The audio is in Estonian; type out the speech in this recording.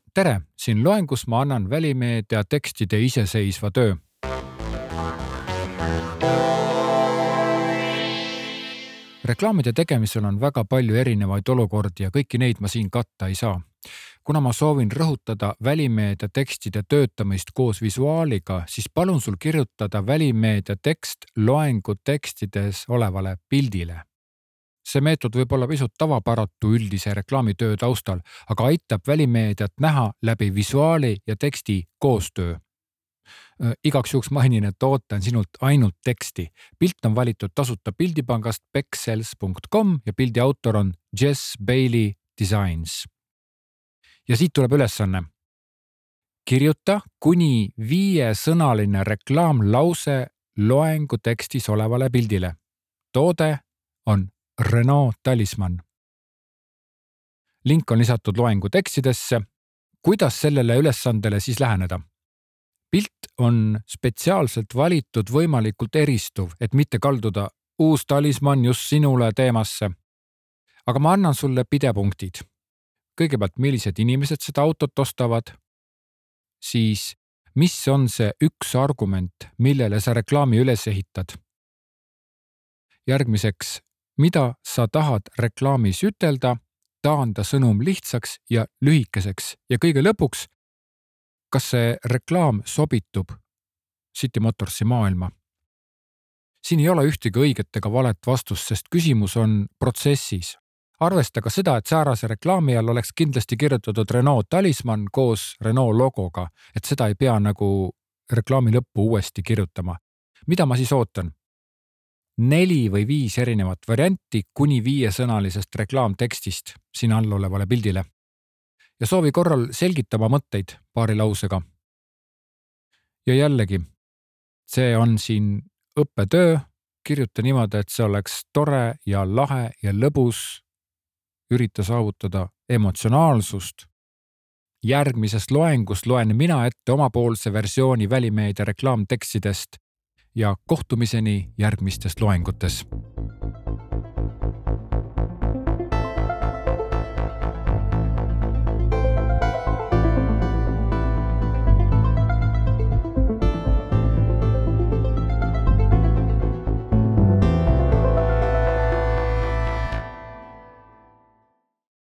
Tere, siin loengus ma annan välimeedia tekstide iseseisva töö. Reklaamide tegemisel on väga palju erinevaid olukordi ja kõiki neid ma siin katta ei saa. Kuna ma soovin rõhutada välimeedia tekstide töötamist koos visuaaliga, siis palun sul kirjutada välimeedia tekst loengu tekstides olevale pildile. See meetod võib olla pisut tavapäratu üldise reklaamitöö taustal, aga aitab välimeediat näha läbi visuaali ja teksti koostöö. Igaks juhuks mainin, et ootan sinult ainult teksti. Pilt on valitud tasuta pildipangast pexels.com ja pildi autor on Jess Bailey Designs. Ja siit tuleb ülesanne. Kirjuta kuni 5-sõnaline reklaamlause loengu tekstis olevale pildile. Toode on Renault Talisman. Link on lisatud loengu tekstidesse. Kuidas sellele ülesandele siis läheneda? Pilt on spetsiaalselt valitud võimalikult eristuv, et mitte kalduda uus talisman just sinule teemasse. Aga ma annan sulle pidepunktid. Kõigepealt, millised inimesed seda autot ostavad? Siis, mis on see üks argument, millele sa reklaami üles ehitad? Järgmiseks, mida sa tahad reklaamis ütelda, taanda sõnum lihtsaks ja lühikeseks ja kõige lõpuks, kas see reklaam sobitub City Motorsi maailma? Siin ei ole ühtegi õiget ega valet vastust, sest küsimus on protsessis. Arvesta ka seda, et säärase reklaami all oleks kindlasti kirjutatud Renault Talisman koos Renault logoga, et seda ei pea nagu reklaami lõppu uuesti kirjutama. Mida ma siis ootan? 4 või 5 erinevat varianti kuni 5-sõnalisest reklaamtekstist siin all olevale pildile. Ja soovi korral selgitama mõtteid paari lausega. Ja jällegi, see on siin õppetöö, kirjuta niimoodi, et see oleks tore ja lahe ja lõbus, ürita saavutada emotsionaalsust. Järgmisest loengust loen mina ette omapoolse versiooni välimeedia reklaamtekstidest ja kohtumiseni järgmistes loengutes.